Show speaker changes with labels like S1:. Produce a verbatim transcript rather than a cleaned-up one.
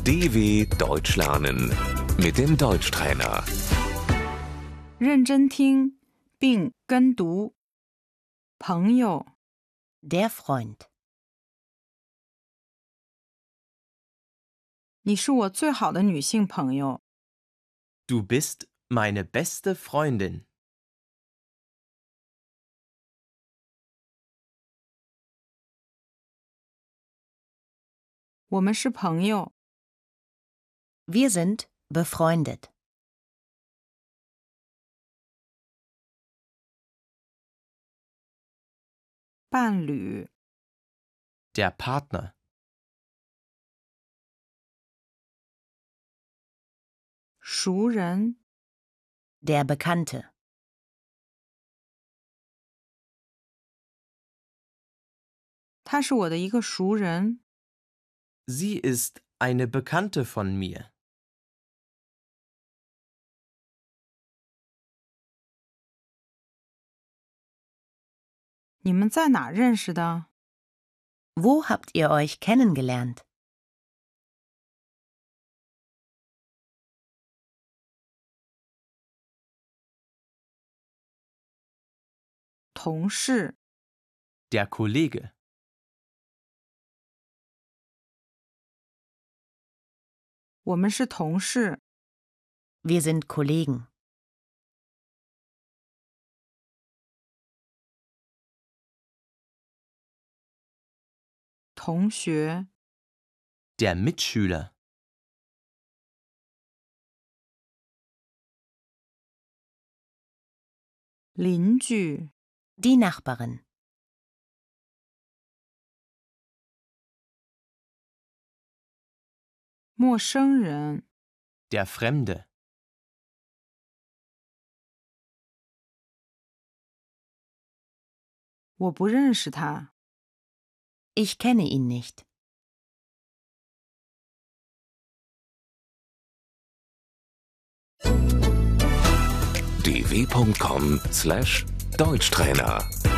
S1: D W Deutsch lernen mit dem Deutschtrainer.
S2: 认真听并跟读。朋友，
S3: Der Freund.
S2: 你是我最好的女性朋友。
S4: Du bist meine beste Freundin.
S2: 我们是朋友。
S3: Wir sind befreundet.
S2: 伴侣，
S4: Der Partner.
S2: 熟人，
S3: Der Bekannte.
S2: 他是我的一个熟人。
S4: Sie ist eine Bekannte von mir.
S2: 你们在哪认识的？
S3: Wo habt ihr euch kennengelernt?
S2: 同事，
S4: Der Kollege.
S2: 我们是同事。
S3: Wir sind Kollegen.
S2: 同学，
S4: Der Mitschüler.
S2: 邻居，
S3: Die Nachbarin.
S2: 陌生人，
S4: Der Fremde.
S2: 我不认识他。
S3: Ich kenne ihn nicht.
S1: d w punkt com slash Deutschtrainer